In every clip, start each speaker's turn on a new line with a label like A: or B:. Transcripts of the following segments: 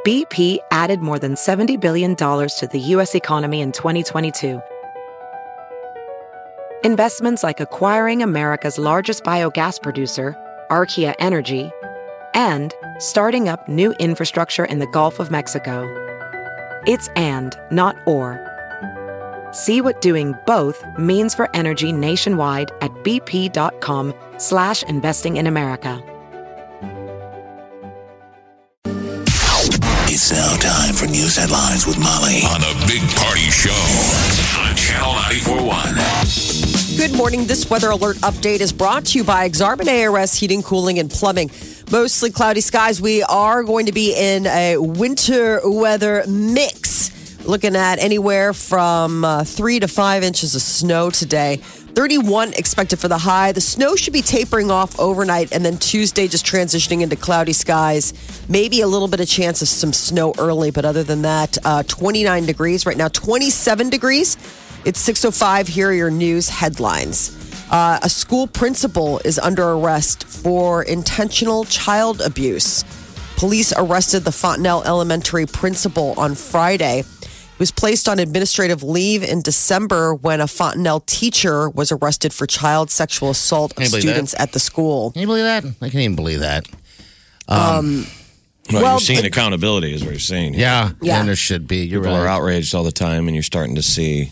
A: BP added more than $70 billion to the U.S. economy in 2022. Investments like acquiring America's largest biogas producer, Archaea Energy, and starting up new infrastructure in the Gulf of Mexico. It's and, not or. See what doing both means for energy nationwide at bp.com/investing in America.
B: It's now time for news headlines with Molly on a Big Party Show on Channel 94.1.
C: Good morning. This weather alert update is brought to you by Exarban ARS Heating, Cooling, and Plumbing. Mostly cloudy skies. We are going to be in a winter weather mix. Looking at anywhere from 3 to 5 inches of snow today. 31 expected for the high. The snow should be tapering off overnight, and then Tuesday just transitioning into cloudy skies. Maybe a little bit of chance of some snow early, but other than that, 29 degrees. Right now, 27 degrees. It's 6:05. Here are your news headlines. A school principal is under arrest for intentional child abuse. Police arrested the Fontenelle Elementary principal on Friday. He was placed on administrative leave in December when a Fontenelle teacher was arrested for child sexual assault of students at the school.
D: Can you believe that? I can't even believe that.
E: Well, you're seeing accountability is what you're saying.
D: Yeah, and there should be. You're
E: People
D: right.
E: are outraged all the time, and you're starting to see.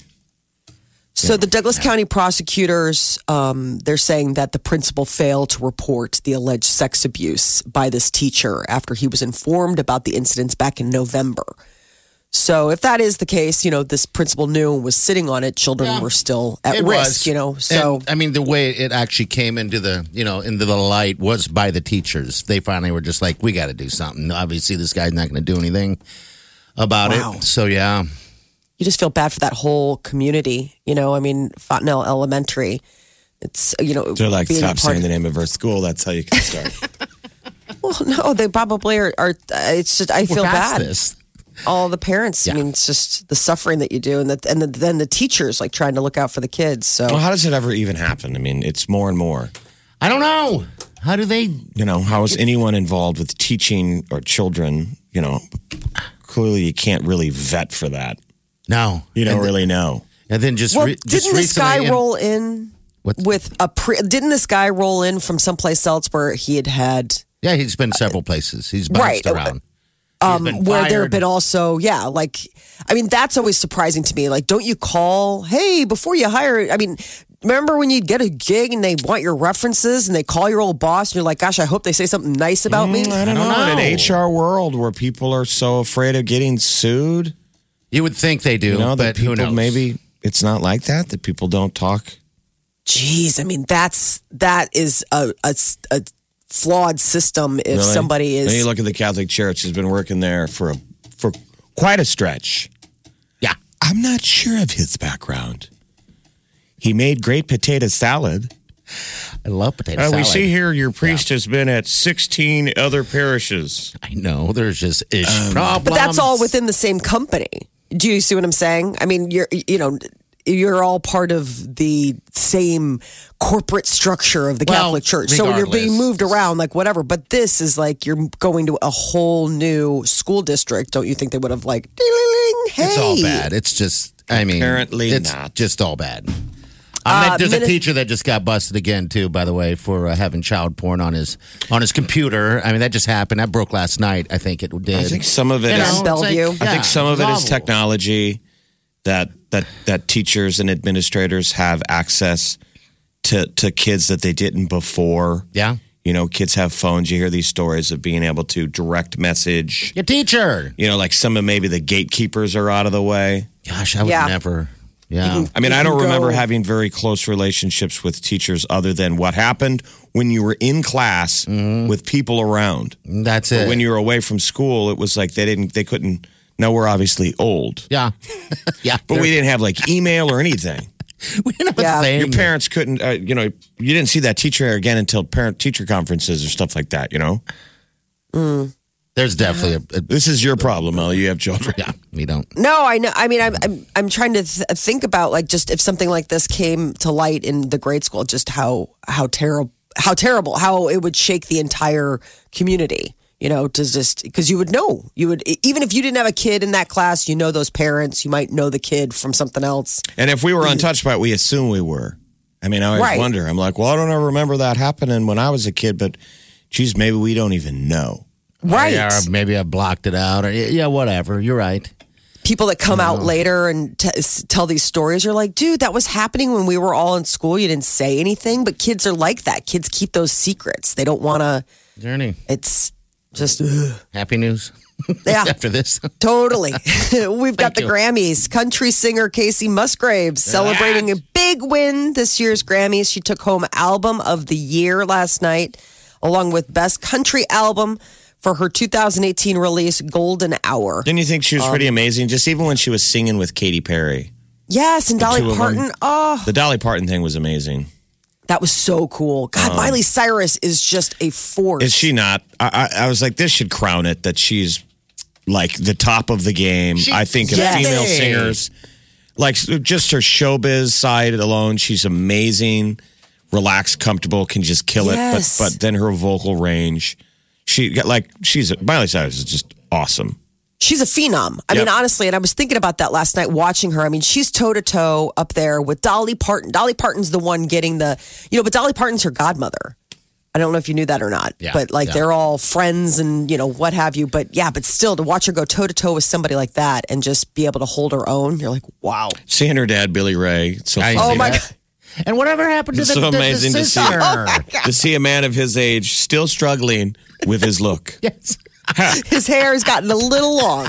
C: So the Douglas County prosecutors, they're saying that the principal failed to report the alleged sex abuse by this teacher after he was informed about the incidents back in November. So if that is the case, this principal knew and was sitting on it. Children were still at risk, So
D: And, I mean, the way it actually came into the, into the light was by the teachers. They finally were just like, we got to do something. Obviously, this guy's not going to do anything about it. So, yeah.
C: You just feel bad for that whole community. Fontenelle Elementary. It's,
E: They're like, stop saying the name of our school. That's how you can start.
C: Well, no, they probably are. It's just, I feel bad.
D: This.
C: All the parents.
D: Yeah.
C: It's just the suffering that you do, and then the teachers like trying to look out for the kids. So
E: Well, how does it ever even happen? I mean, it's more and more.
D: I don't know. How do they?
E: How is anyone involved with teaching or children? Clearly you can't really vet for that.
D: No.
E: You don't really know.
D: And then just
C: didn't this guy roll in
D: What's-
C: with didn't this guy roll in from someplace else where he had?
D: Yeah, he's been several places. He's bounced around.
C: Where there have been also, that's always surprising to me. Like, don't you call, hey, before you hire, remember when you'd get a gig and they want your references and they call your old boss and you're like, gosh, I hope they say something nice about me?
E: I don't know. In an HR world where people are so afraid of getting sued.
D: You would think they do,
E: that
D: but
E: people,
D: who knows?
E: maybe it's not like that people don't talk.
C: Jeez, that is a flawed system if
E: Really?
C: somebody is.
E: Then you look at the Catholic Church has been working there for quite a stretch.
D: Yeah.
E: I'm not sure of his background. He made great potato salad.
D: I love potato salad.
E: We see here your priest has been at 16 other parishes.
D: I know. There's just problems.
C: But that's all within the same company. Do you see what I'm saying? I mean, you're all part of the same corporate structure of the Catholic Church. So when you're being moved around, like whatever. But this is like you're going to a whole new school district. Don't you think they would have like, ding-ling-ling, hey.
D: It's all bad. It's just,
E: Apparently
D: it's
E: not.
D: just all bad. There's a teacher that just got busted again, too, by the way, for having child porn on his computer. I mean, that just happened. That broke last night, I think it did.
E: I think some of it is
C: Bellevue.
E: I think some of it is technology that teachers and administrators have access to kids that they didn't before.
D: Yeah.
E: Kids have phones. You hear these stories of being able to direct message.
D: Your teacher.
E: Like some of maybe the gatekeepers are out of the way.
D: Gosh, I would never. Yeah.
E: I mean, I don't remember having very close relationships with teachers other than what happened when you were in class with people around.
D: That's it.
E: But when you were away from school, it was like they couldn't. Now we're obviously old.
D: Yeah. Yeah.
E: But we didn't have like email or anything.
D: We didn't have a thing.
E: Your parents couldn't, you didn't see that teacher again until parent-teacher conferences or stuff like that,
D: There's definitely
E: This is your problem, Ellie. You have children.
D: Yeah, we don't.
C: No, I know. I mean, I'm trying to think about like just if something like this came to light in the grade school, just how terrible, how it would shake the entire community. To just because you would know, even if you didn't have a kid in that class, those parents, you might know the kid from something else.
E: And if we were untouched by it, we assume we were. I mean, I always wonder. I'm like, well, I don't ever remember that happening when I was a kid, but geez, maybe we don't even know.
C: Right.
D: Yeah, or maybe I blocked it out. Or whatever. You're right.
C: People that come out later and tell these stories are like, dude, that was happening when we were all in school. You didn't say anything, but kids are like that. Kids keep those secrets. They don't want to.
D: Journey.
C: It's just
D: happy news.
C: Yeah.
D: After this.
C: Totally. We've got the Grammys. Country singer Casey Musgraves celebrating a big win this year's Grammys. She took home Album of the Year last night, along with Best Country Album for her 2018 release, Golden Hour.
E: Didn't you think she was pretty amazing? Just even when she was singing with Katy Perry.
C: Yes, and Dolly Parton. Oh,
E: the Dolly Parton thing was amazing.
C: That was so cool. God, Miley Cyrus is just a force.
E: Is she not? I was like, this should crown it that she's like the top of the game. I think of female singers. Like just her showbiz side alone, she's amazing, relaxed, comfortable, can just kill it. But then her vocal range, Miley Cyrus is just awesome.
C: She's a phenom. I mean, honestly, and I was thinking about that last night watching her. I mean, she's toe-to-toe up there with Dolly Parton. Dolly Parton's the one getting but Dolly Parton's her godmother. I don't know if you knew that or not.
D: Yeah,
C: but they're all friends and, what have you. But still to watch her go toe-to-toe with somebody like that and just be able to hold her own, you're like, wow.
E: Seeing her dad, Billy Ray. It's so funny.
C: Oh, my God.
D: And whatever happened to
E: it's so amazing to see to see a man of his age still struggling with his look.
D: Yes.
C: His hair has gotten a little long.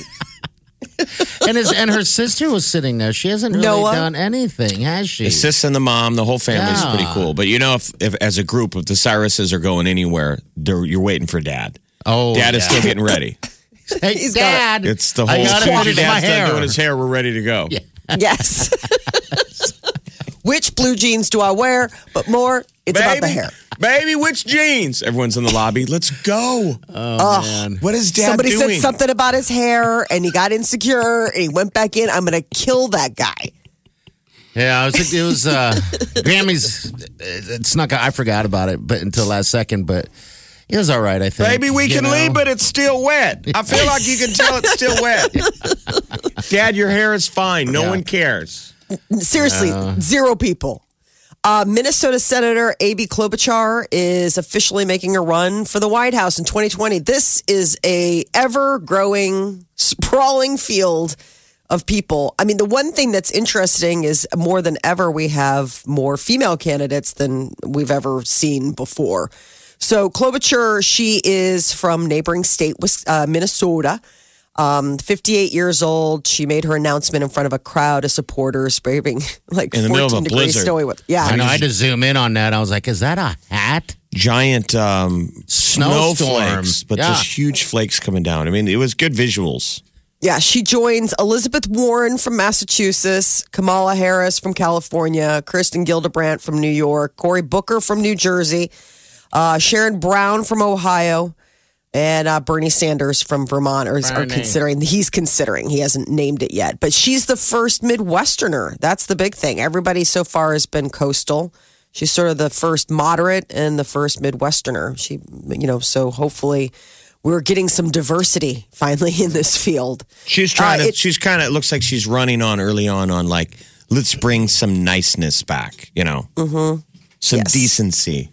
D: and her sister was sitting there. She hasn't really done anything, has she?
E: The sis and the mom, the whole family's pretty cool. But if as a group, if the Cyruses are going anywhere, you're waiting for Dad.
D: Oh,
E: Dad is still getting ready.
D: Hey, Dad,
E: it's the whole. As soon as Dad's done doing his hair, we're ready to go.
D: Yeah.
C: Yes. Which blue jeans do I wear? But more, it's about the hair.
E: Baby, which jeans? Everyone's in the lobby. Let's go.
D: Oh, man.
E: What is Dad
C: Somebody
E: doing?
C: said something about his hair, and he got insecure, and he went back in. I'm going to kill that guy.
D: Yeah, it was Grammys. It snuck out. I forgot about it, but until last second. But it was all right, I think.
E: Baby, we can leave, but it's still wet. I feel like you can tell it's still wet. Dad, your hair is fine. No one cares.
C: Seriously, zero people. Minnesota Senator Amy Klobuchar is officially making a run for the White House in 2020. This is a ever-growing, sprawling field of people. I mean, the one thing that's interesting is more than ever, we have more female candidates than we've ever seen before. So Klobuchar, she is from neighboring state, Minnesota. 58 years old. She made her announcement in front of a crowd of supporters, braving like
E: in the
C: 14
E: middle of a
C: degrees
E: blizzard.
C: snowy weather. Yeah,
D: I know. I had to zoom in on that. I was like, "Is that a hat?"
E: Giant
D: Snowstorm.
E: snowflakes, but
D: Yeah.
E: just huge flakes coming down. I mean, it was good visuals.
C: Yeah, she joins Elizabeth Warren from Massachusetts, Kamala Harris from California, Kirsten Gillibrand from New York, Cory Booker from New Jersey, Sharon Brown from Ohio, and Bernie Sanders from Vermont are considering. He's considering. He hasn't named it yet. But she's the first Midwesterner. That's the big thing. Everybody so far has been coastal. She's sort of the first moderate and the first Midwesterner. She, so hopefully we're getting some diversity finally in this field.
E: She's trying to. She's kind of. It looks like she's running on early on like, let's bring some niceness back. Some decency.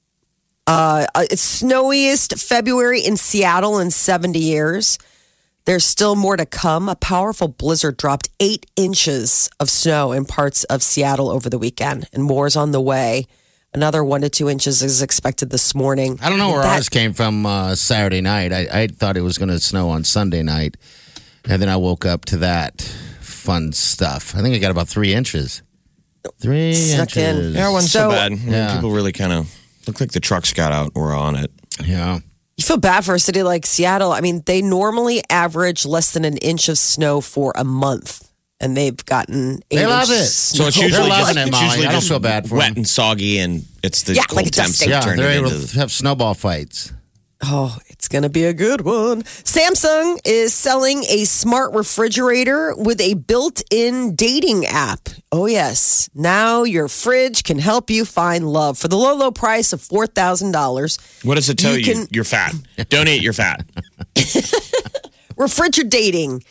C: It's snowiest February in Seattle in 70 years. There's still more to come. A powerful blizzard dropped 8 inches of snow in parts of Seattle over the weekend, and more is on the way. Another 1 to 2 inches is expected this morning.
D: I don't know where ours came from Saturday night. I thought it was going to snow on Sunday night, and then I woke up to that fun stuff. I think I got about 3 inches. 3
C: Snuck
D: inches.
C: in.
E: Yeah, it wasn't so bad.
D: Yeah.
E: People really kind of looked like the trucks got out and were on it.
D: Yeah.
C: You feel bad for a city like Seattle. I mean, they normally average less than an inch of snow for a month, and they've gotten 8
D: They love
C: inches
D: it.
C: of
E: So it's
C: snow.
E: usually
D: They're loving
E: just,
D: it,
E: it's
D: Molly.
E: usually
D: I don't
E: just
D: feel bad for
E: wet
D: them.
E: and soggy, and it's the
C: Yeah,
E: cold
C: like a
E: temps
C: dusting.
E: that
D: Yeah,
E: turn
D: they're
E: it
D: able
E: into
D: to have snowball fights.
C: Oh, it's going to be a good one. Samsung is selling a smart refrigerator with a built-in dating app. Oh, yes. Now your fridge can help you find love for the low, low price of $4,000.
E: What does it tell you? You're fat. Don't eat, you're fat.
C: Refrigerating.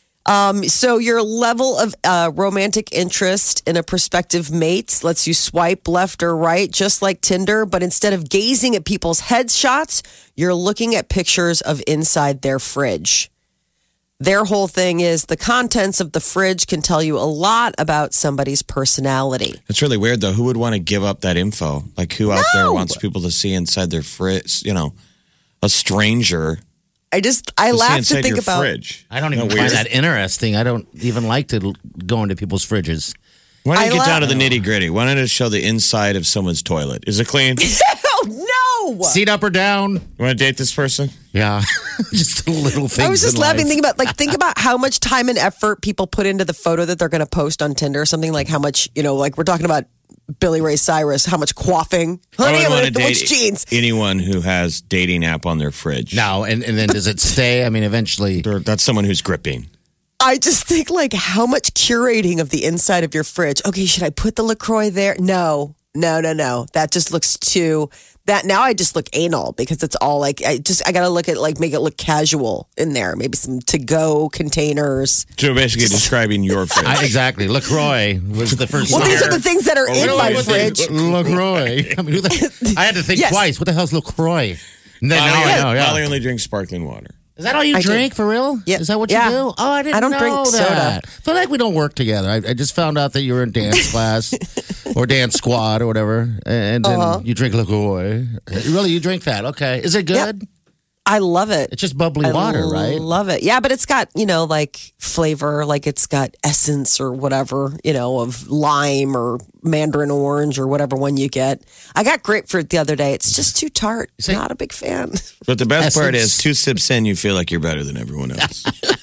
C: So your level of romantic interest in a prospective mate lets you swipe left or right, just like Tinder. But instead of gazing at people's headshots, you're looking at pictures of inside their fridge. Their whole thing is the contents of the fridge can tell you a lot about somebody's personality.
E: It's really weird, though. Who would want to give up that info? Like, who out there wants people to see inside their fridge? You know, a stranger.
C: I laugh to think about.
E: Fridge.
D: I don't even find that interesting. I don't even like to go into people's fridges.
E: Why don't you get down to the nitty gritty? Why don't you show the inside of someone's toilet? Is it clean?
C: Oh, no!
D: Seat up or down?
E: You want to date this person?
D: Yeah, just a little thing.
C: I was just laughing, thinking about think about how much time and effort people put into the photo that they're going to post on Tinder or something. Like how much, like we're talking about Billy Ray Cyrus, how much quaffing. Honey, I'm going to date jeans.
E: Anyone who has dating app on their fridge.
D: No, and then does it stay? I mean, eventually.
E: That's someone who's gripping.
C: I just think like how much curating of the inside of your fridge. Okay, should I put the LaCroix there? No. That just looks too... Now I just look anal because it's all like I got to look at make it look casual in there. Maybe some to-go containers.
E: So basically describing your fridge.
D: Exactly. LaCroix was the first.
C: Well, these are the things that are in my fridge.
D: LaCroix. I mean, I had to think twice. What the hell's LaCroix? Now I know.
E: Molly only drinks sparkling water.
D: Is that all you drink for real?
C: Yeah.
D: Is that what you do? Oh, I don't
C: drink soda.
D: I feel like we don't work together. I just found out that you were in dance class or dance squad or whatever, and then you drink LaCroix. Really, you drink that? Okay. Is it good?
C: Yep. I love it.
D: It's just bubbly water, right?
C: Love it. Yeah, but it's got, like flavor, like it's got essence or whatever, of lime or mandarin orange or whatever one you get. I got grapefruit the other day. It's just too tart. Not a big fan.
E: But the best part is 2 sips in, you feel like you're better than everyone else.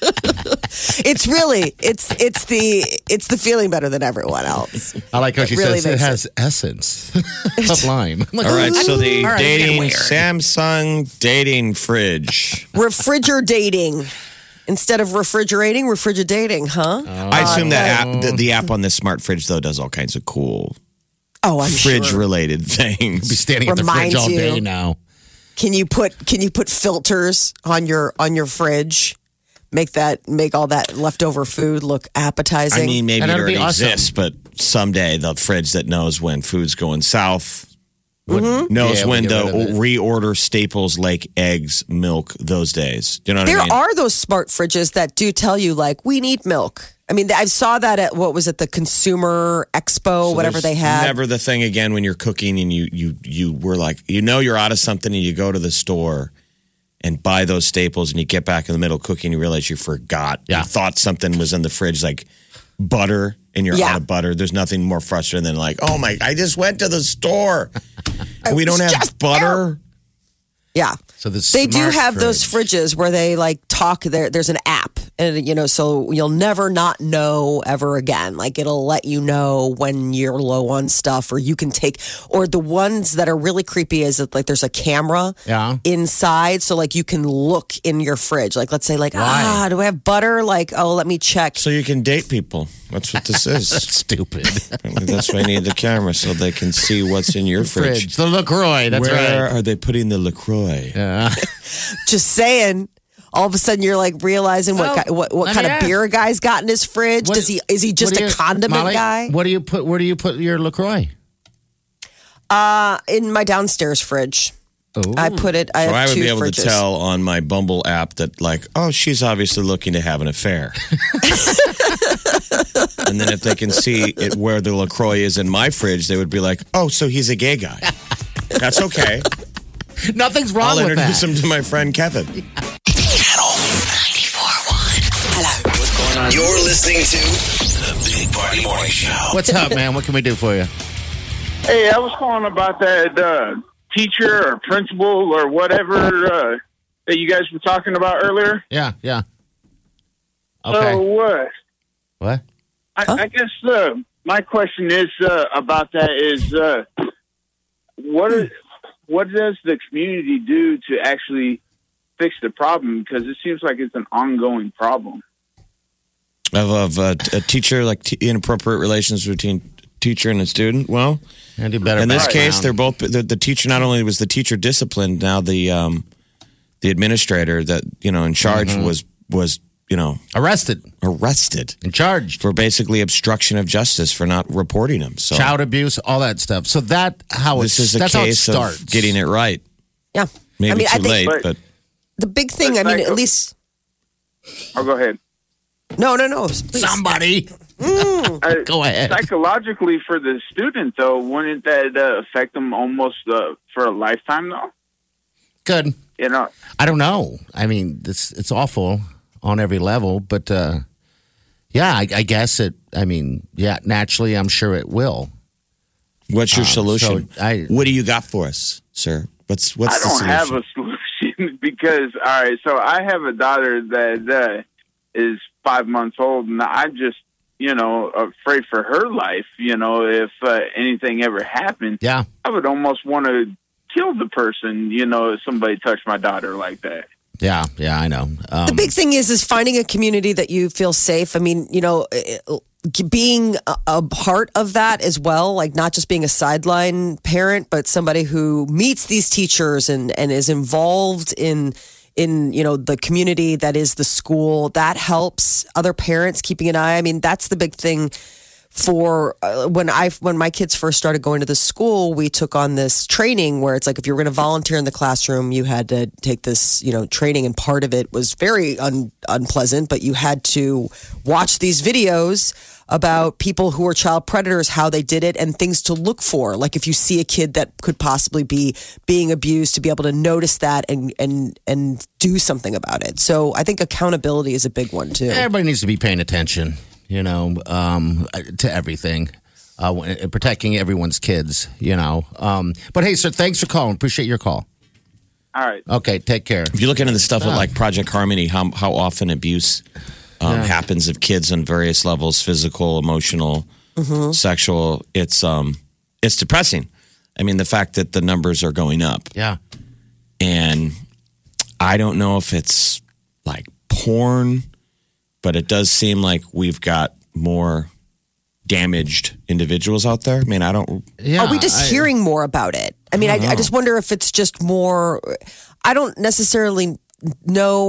C: It's really, it's the feeling better than everyone else.
D: I like how she says it has essence of lime.
E: All right, so the dating Samsung dating fridge.
C: Refrigerating. Instead of refrigerating, refrigerating, huh?
E: I assume that the app on this smart fridge, though, does all kinds of cool fridge-related things.
D: Be standing at the fridge all day now.
C: Can you put filters on your fridge? Make all that leftover food look appetizing.
E: I mean, maybe it already exists, but someday the fridge that knows when food's going south knows when to reorder staples like eggs, milk, those days. Do you know what I mean?
C: There are those smart fridges that do tell you, we need milk. I mean, I saw that at, the Consumer Expo, whatever they had.
E: Never the thing again when you're cooking and you were like, you're out of something and you go to the store and buy those staples and you get back in the middle of cooking, you realize you forgot.
D: Yeah.
E: You thought something was in the fridge, like butter, and you're out of butter. There's nothing more frustrating than I just went to the store and we don't have butter.
C: Yeah.
D: So
C: they do have those fridges where they talk. There's an app, and so you'll never not know ever again. It'll let you know when you're low on stuff, or you can take. Or the ones that are really creepy is that there's a camera inside, so you can look in your fridge. Let's say do I have butter? Let me check.
E: So you can date people. That's what this is.
D: That's stupid.
E: That's why I need the camera so they can see what's in your fridge.
D: The LaCroix. That's
E: Where are they putting the LaCroix?
D: Yeah.
C: Just saying. All of a sudden, you're realizing what kind of beer a guy's got in his fridge. Is he just a condiment guy?
D: Where do you put your LaCroix?
C: In my downstairs fridge.
D: Ooh.
C: I put it. I
E: would be able
C: fridges.
E: to tell on my Bumble app that she's obviously looking to have an affair. And then if they can see it where the LaCroix is in my fridge, they would be like, oh, so he's a gay guy. That's okay.
D: Nothing's wrong with that.
E: I'll introduce him to my friend Kevin.
B: Channel 94.1. Hello. What's going on? You're listening to the Big Party Morning Show.
D: What's up, man? What can we do for you?
F: Hey, I was calling about that teacher or principal or whatever that you guys were talking about earlier.
D: Yeah. Okay.
F: So what?
D: What?
F: I guess my question is about that is what does the community do to actually fix the problem? Because it seems like it's an ongoing problem.
E: Of a teacher, like inappropriate relations between teacher and a student. Well,
D: and do better
E: in this case, they're both the teacher. Not only was the teacher disciplined, now the administrator that in charge was
D: arrested
E: and
D: charged
E: for basically obstruction of justice for not reporting him. So
D: child abuse, all that stuff. So
E: this is a case of getting it right.
C: Yeah,
E: maybe too late, but
C: the big thing. I mean, at least.
F: Oh, go ahead.
C: No. Please.
D: Somebody. Go ahead.
F: Psychologically, for the student, though, wouldn't that affect them almost for a lifetime, though?
D: Good.
F: I
D: don't know. I mean, it's awful on every level, but I guess it. I mean, naturally, I'm sure it will.
E: What's your solution? What do you got for us, sir? What's the solution?
F: I don't have a solution because, all right, so I have a daughter that is 5 months old, and I'm just, afraid for her life, if anything ever happened.
D: Yeah.
F: I would almost want to kill the person, if somebody touched my daughter like that.
D: Yeah, I know.
C: The big thing is finding a community that you feel safe. I mean, being a part of that as well, like not just being a sideline parent, but somebody who meets these teachers and is involved in the community that is the school. That helps other parents keeping an eye. I mean, that's the big thing. For when my kids first started going to the school, we took on this training where it's like if you were going to volunteer in the classroom, you had to take this training, and part of it was very unpleasant, but you had to watch these videos about people who are child predators, how they did it, and things to look for. Like if you see a kid that could possibly be being abused, to be able to notice that and do something about it. So I think accountability is a big one too.
D: Everybody needs to be paying attention. To everything, protecting everyone's kids, But hey, sir, thanks for calling. Appreciate your call.
F: All right.
D: Okay, take care.
E: If you look into the stuff with like Project Harmony, how often abuse happens of kids on various levels, physical, emotional, sexual, it's depressing. I mean, the fact that the numbers are going up.
D: Yeah.
E: And I don't know if it's like porn, but it does seem like we've got more damaged individuals out there. I mean, I don't...
C: Yeah, are we just hearing more about it? I mean, I just wonder if it's just more... I don't necessarily know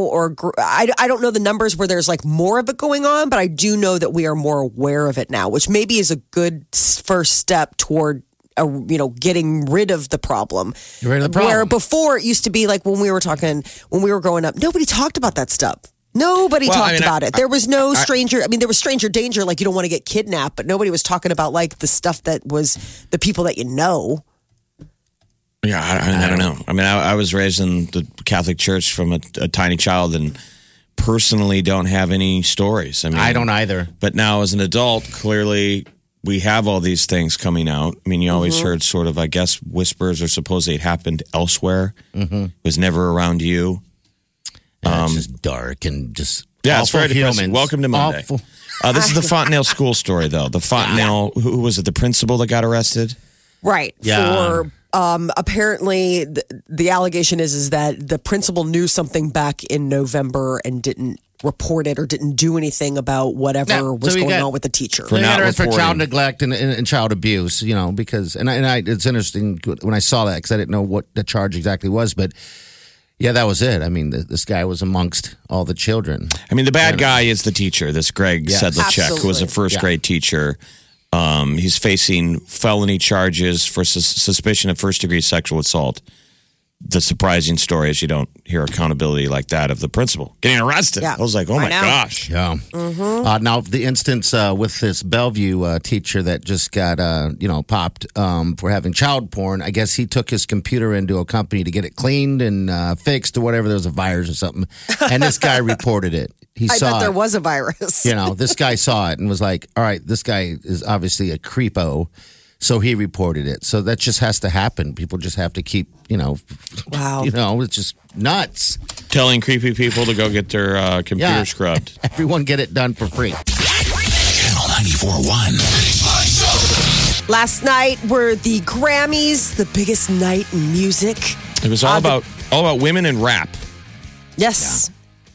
C: I don't know the numbers where there's like more of it going on, but I do know that we are more aware of it now, which maybe is a good first step toward getting rid of the problem. Where before it used to be like when we were growing up, nobody talked about that stuff. Nobody talked about it. There was no stranger. I mean, there was stranger danger, like you don't want to get kidnapped, but nobody was talking about like the stuff that was the people that you know.
E: Yeah, I don't know. I mean, I was raised in the Catholic Church from a tiny child and personally don't have any stories. I mean,
D: I don't either.
E: But now as an adult, clearly we have all these things coming out. I mean, you always heard sort of, I guess, whispers or supposedly it happened elsewhere. It was never around you.
D: It's just dark and just
E: it's very depressing. Welcome to Monday. This is the Fontenelle school story, though. The Fontenelle, who was it? The principal that got arrested,
C: right?
D: Yeah.
C: For apparently, the allegation is that the principal knew something back in November and didn't report it or didn't do anything about whatever was going on with the teacher.
D: For child neglect and child abuse, because it's interesting when I saw that because I didn't know what the charge exactly was, but. Yeah, that was it. I mean, this guy was amongst all the children.
E: I mean, the bad guy is the teacher, this Greg Sedlacek, who was a first grade teacher. He's facing felony charges for suspicion of first-degree sexual assault. The surprising story is you don't hear accountability like that of the principal getting arrested. Yeah. I was like, oh my gosh.
D: Yeah. Now, the instance with this Bellevue teacher that just got, popped for having child porn, I guess he took his computer into a company to get it cleaned and fixed or whatever. There was a virus or something. And this guy reported it.
C: I bet there was a virus.
D: This guy saw it and was like, all right, this guy is obviously a creepo. So he reported it. So that just has to happen. People just have to keep,
C: wow.
D: It's just nuts.
E: Telling creepy people to go get their computer scrubbed.
D: Everyone get it done for free.
B: Channel 94.1.
C: Last night were the Grammys, the biggest night in music.
E: It was all about women and rap.
C: Yes.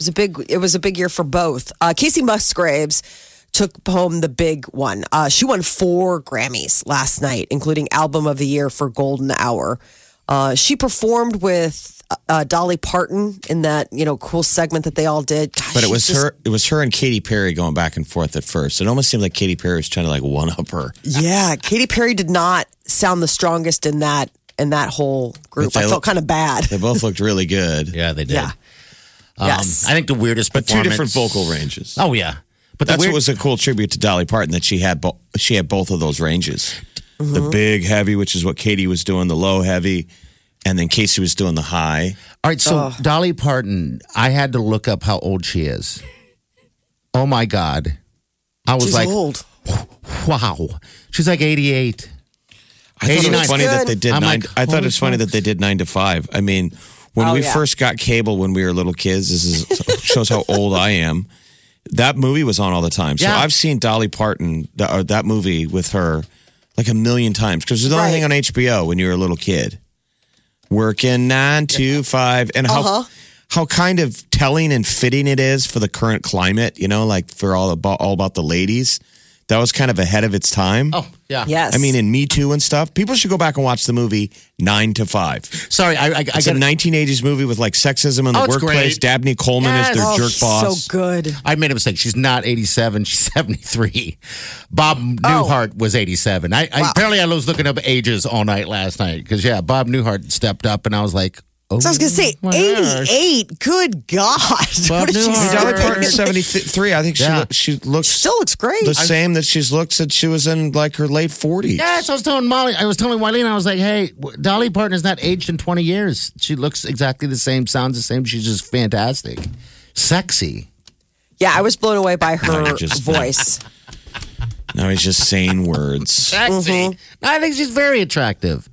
C: It was a big year for both. Casey Musgraves took home the big one. She won 4 Grammys last night, including Album of the Year for Golden Hour. She performed with Dolly Parton in that, cool segment that they all did. Gosh,
E: but it was her and Katy Perry going back and forth at first. It almost seemed like Katy Perry was trying to one up her.
C: Yeah, Katy Perry did not sound the strongest in that whole group. I felt kind of bad.
E: They both looked really good.
D: Yeah, they did.
C: Yeah. Yes.
D: I think the weirdest
E: But 2
D: performance...
E: different vocal ranges.
D: Oh, yeah. But
E: that's what was a cool tribute to Dolly Parton, that she had both of those ranges. Mm-hmm. The big heavy, which is what Katy was doing, the low heavy, and then Casey was doing the high.
D: All right, so Dolly Parton, I had to look up how old she is. Oh, my God. I was
C: She's old.
D: Wow. She's like 88.
E: I thought it was funny that they did I thought it was funny that they did 9 to 5. I mean, when we first got cable when we were little kids, shows how old I am. That movie was on all the time. So I've seen Dolly Parton, that movie with her, like a million times. Because there's another thing on HBO when you were a little kid. Working 9 to 5. And how kind of telling and fitting it is for the current climate, for all about the ladies. That was kind of ahead of its time.
D: Oh, yeah.
C: Yes.
E: I mean, in Me Too and stuff, people should go back and watch the movie 9 to 5.
D: Sorry,
E: it's a 1980s movie with sexism in the workplace.
D: Great.
E: Dabney Coleman is their jerk boss.
C: So good.
D: I made a mistake. She's not 87. She's 73. Bob Newhart was 87. Apparently I was looking up ages all night last night because, Bob Newhart stepped up and I was like, oh.
C: So I was going to say, 88. Good God.
D: Bob Newhart.
E: Dolly Parton's 73. I think she looks...
C: She still looks great.
E: The same that she's looked since she was in her late 40s.
D: Yeah, so I was telling Molly, Wileen, I was like, hey, Dolly Parton is not aged in 20 years. She looks exactly the same, sounds the same. She's just fantastic. Sexy.
C: Yeah, I was blown away by her voice.
E: Now he's just saying words.
D: Sexy. Mm-hmm. I think she's very attractive.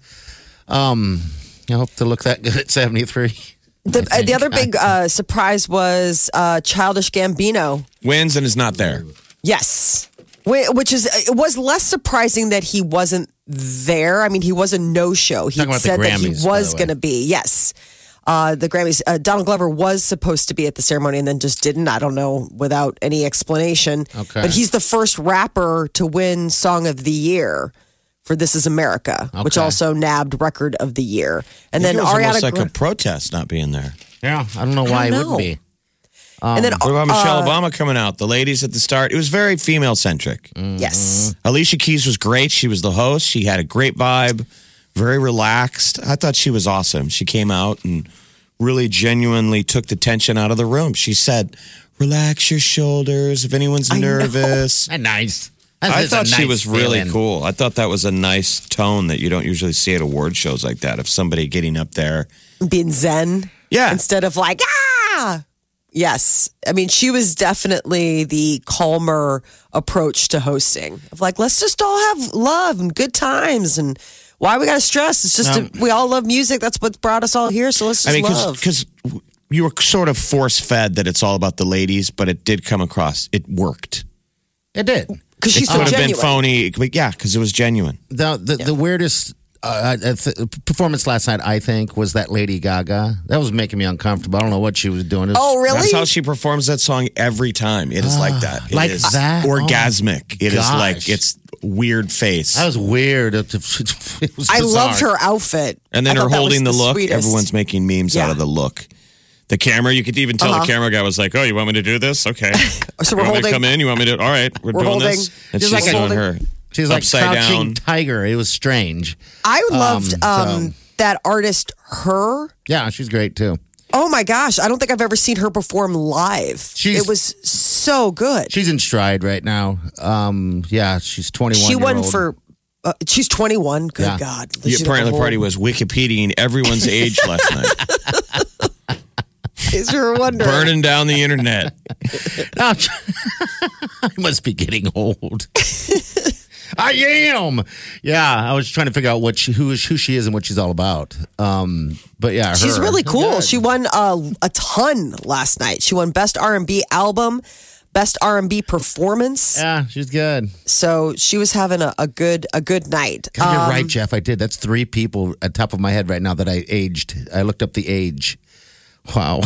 D: I hope to look that good at 73.
C: The other big surprise was Childish Gambino.
E: Wins and is not there.
C: Yes. Which it was less surprising that he wasn't there. I mean, he was a no-show. He said that he was going to be. Yes. The Grammys. Donald Glover was supposed to be at the ceremony and then just didn't. I don't know, without any explanation.
D: Okay.
C: But he's the first rapper to win Song of the Year for This Is America, which also nabbed Record of the Year. And then
E: it was
C: Ariana
E: almost like a protest not being there.
D: Yeah, I don't know why it wouldn't be.
C: And then
E: what about Michelle Obama coming out? The ladies at the start. It was very female-centric.
C: Yes.
E: Alicia Keys was great. She was the host. She had a great vibe, very relaxed. I thought she was awesome. She came out and really genuinely took the tension out of the room. She said, relax your shoulders if anyone's nervous.
D: Nice.
E: I thought she was really cool. I thought that was a nice tone that you don't usually see at award shows like that. Of somebody getting up there.
C: Being zen.
E: Yeah.
C: Instead of like, ah! Yes. I mean, she was definitely the calmer approach to hosting. Of like, let's just all have love and good times. And why we got to stress? It's just, we all love music. That's what brought us all here. So let's just love.
E: Because you were sort of force-fed that it's all about the ladies, but it did come across. It worked.
D: It did.
C: Because she's so
E: genuine. It could have been phony, but because it was genuine.
D: The weirdest performance last night, I think, was that Lady Gaga. That was making me uncomfortable. I don't know what she was doing.
C: Really?
E: That's how she performs that song every time. It is like that.
D: It is that?
E: Orgasmic. It is like, it's weird face.
D: That was weird. It was
C: I loved her outfit.
E: And then her holding the look.
C: Sweetest.
E: Everyone's making memes out of the look. The camera, you could even tell the camera guy was like, oh, you want me to do this? Okay.
C: So we're holding.
E: Come in? You want me to? All right. We're doing
C: holding.
E: this. And she's
D: like
E: doing her.
D: She's like
E: upside
D: crouching
E: down
D: tiger. It was strange.
C: I loved that artist, Her.
D: Yeah, she's great too.
C: Oh my gosh. I don't think I've ever seen her perform live. It was so good.
D: She's in stride right now. Yeah, she's 21.
C: She won for. She's 21. Good God.
E: The apparently party was Wikipediaing everyone's age last night.
C: Is you were wondering.
E: Burning down the internet.
D: I must be getting old. I am. Yeah, I was trying to figure out who she is and what she's all about. But yeah,
C: she's really cool. She won a ton last night. She won Best R&B Album, Best R&B performance.
D: Yeah, she's good.
C: So she was having a good night.
D: God, you're right, Jeff. I did. That's 3 people at top of my head right now that I aged. I looked up the age. Wow.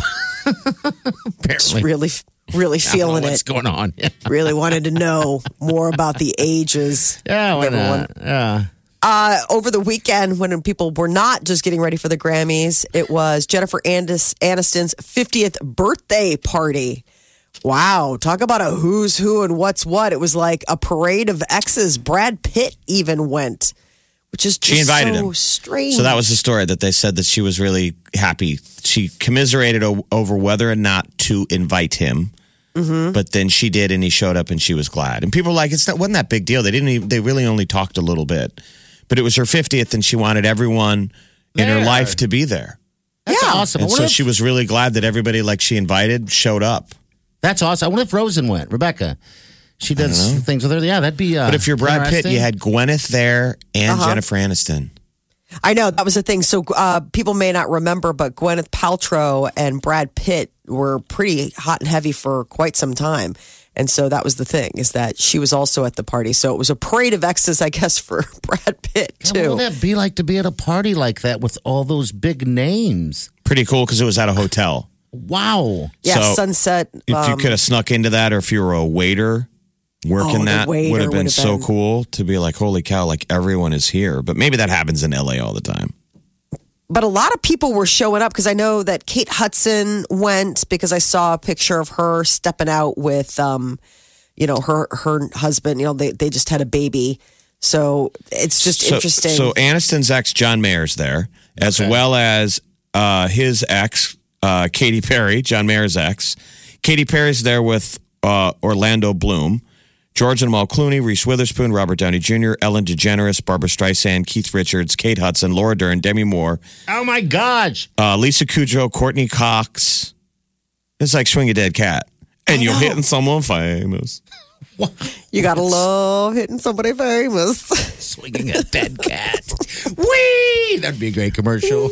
C: Just
D: Apparently.
C: really feeling
D: what's
C: it.
D: going on? Yeah,
C: Really wanted to know more about the ages.
D: yeah why
C: of everyone.
D: not? Yeah.
C: Over the weekend, when people were not just getting ready for the Grammys, it was Jennifer Aniston's 50th birthday party. Wow, talk about a who's who and what's what. It was like a parade of exes. Brad Pitt even went, which is just
E: She invited
C: so
E: him.
C: strange.
E: So that was the story that they said that she was really happy. She commiserated over whether or not to invite him. But then she did, and he showed up, and she was glad. And people were like, wasn't that big deal. They really only talked a little bit. But it was her 50th, and she wanted everyone in her
D: There.
E: life to be there.
D: That's awesome. I
E: And
D: wonder
E: so
D: if-
E: she was really glad that everybody like she invited showed up.
D: That's awesome. I wonder if Rosen went. Rebecca. She does things with her. Yeah, that'd be.
E: But if you're Brad Pitt,
D: interesting.
E: you had Gwyneth there and Jennifer Aniston.
C: I know that was the thing. So people may not remember, but Gwyneth Paltrow and Brad Pitt were pretty hot and heavy for quite some time. And so that was the thing, is that she was also at the party. So it was a parade of exes, I guess, for Brad Pitt,
D: What
C: too.
D: would that be like to be at a party like that with all those big names?
E: Pretty cool because it was at a hotel.
D: Wow.
C: Yeah,
E: So,
C: Sunset.
E: If you could have snuck into that, or if you were a waiter working
C: the
E: that,
C: waiter
E: would have been
C: would have
E: so
C: been-
E: cool to be like, holy cow, like everyone is here. But maybe that happens in LA all the time.
C: But a lot of people were showing up because I know that Kate Hudson went, because I saw a picture of her stepping out with, her husband. They just had a baby. So it's just interesting.
E: So Aniston's ex, John Mayer's there, as well as his ex, Katy Perry, John Mayer's ex. Katy Perry's there with Orlando Bloom, George and Amal Clooney, Reese Witherspoon, Robert Downey Jr., Ellen DeGeneres, Barbara Streisand, Keith Richards, Kate Hudson, Laura Dern, Demi Moore,
D: Oh my gosh.
E: Lisa Kudrow, Courtney Cox. It's like Swing a Dead Cat. And you're hitting someone famous.
C: you got to love hitting somebody famous.
D: Swinging a dead cat. Whee! That'd be a great commercial.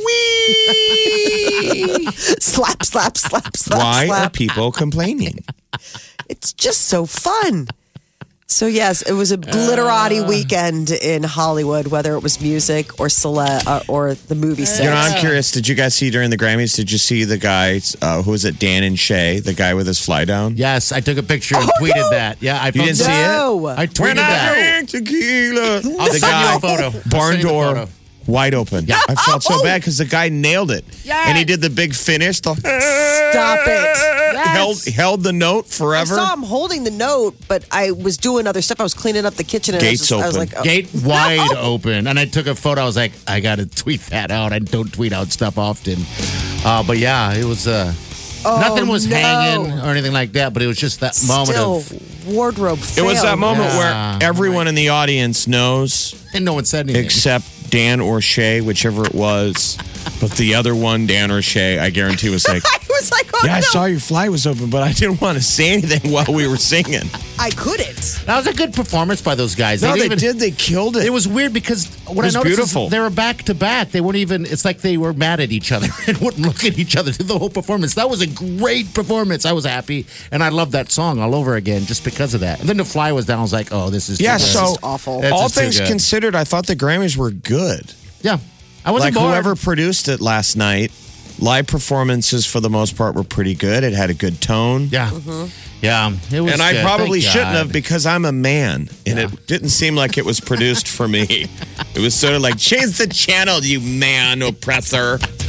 C: Slap, slap, slap, slap,
E: Why
C: slap.
E: are people complaining?
C: It's just so fun. So, yes, it was a glitterati weekend in Hollywood, whether it was music or or the movie set.
E: You know, I'm curious. Did you guys see during the Grammys? Did you see the guy? Who was it? Dan and Shay, the guy with his fly down.
D: Yes, I took a picture and tweeted that. Yeah, I
E: didn't see it?
C: No.
D: I tweeted that.
E: drink tequila,
D: I'll
E: the
D: send you
E: guy
D: a photo. I'll
E: barn
D: send you a
E: door
D: photo.
E: wide open.
D: Yeah.
E: I felt so bad because the guy nailed it. And he did the big finish.
C: Stop it.
E: Held the note
C: I
E: forever.
C: saw him holding the note, but I was doing other stuff. I was cleaning up the kitchen. And
E: Gates
C: I was
E: open.
C: like, oh.
D: Gate wide open. And I took a photo. I was like, I got to tweet that out. I don't tweet out stuff often. But yeah, it was, nothing was
C: no.
D: hanging or anything like that, but it was just that moment
C: Still,
D: of,
C: wardrobe
E: It was that
C: failed.
E: moment
D: Yeah.
E: where everyone in the audience knows,
D: and no one said anything.
E: except Dan or Shay, whichever it was. But the other one, Dan or Shay, I guarantee was like,
C: I was like, oh,
E: yeah, I
C: no.
E: saw your fly was open, but I didn't want to say anything while we were singing.
C: I couldn't.
D: That was a good performance by those guys.
E: No, they
D: didn't
E: did. They killed it.
D: It was weird because what
E: was
D: I noticed
E: beautiful.
D: is they were back to back. They weren't even. It's like they were mad at each other and wouldn't look at each other through the whole performance. That was a great performance. I was happy, and I loved that song all over again just because of that. And then the fly was down. I was like, oh, this is
E: Yeah,
D: too
E: so
D: good.
C: is awful.
D: It's
E: all
D: just too
E: things
D: good.
E: considered, I thought the Grammys were good.
D: Yeah, I wasn't
E: Like
D: bored.
E: whoever produced it last night, live performances for the most part were pretty good. It had a good tone.
D: Yeah, yeah. It was.
E: And I
D: good.
E: probably
D: Thank
E: shouldn't
D: God.
E: have because I'm a man and it didn't seem like it was produced for me. It was sort of like, change the channel, you man oppressor.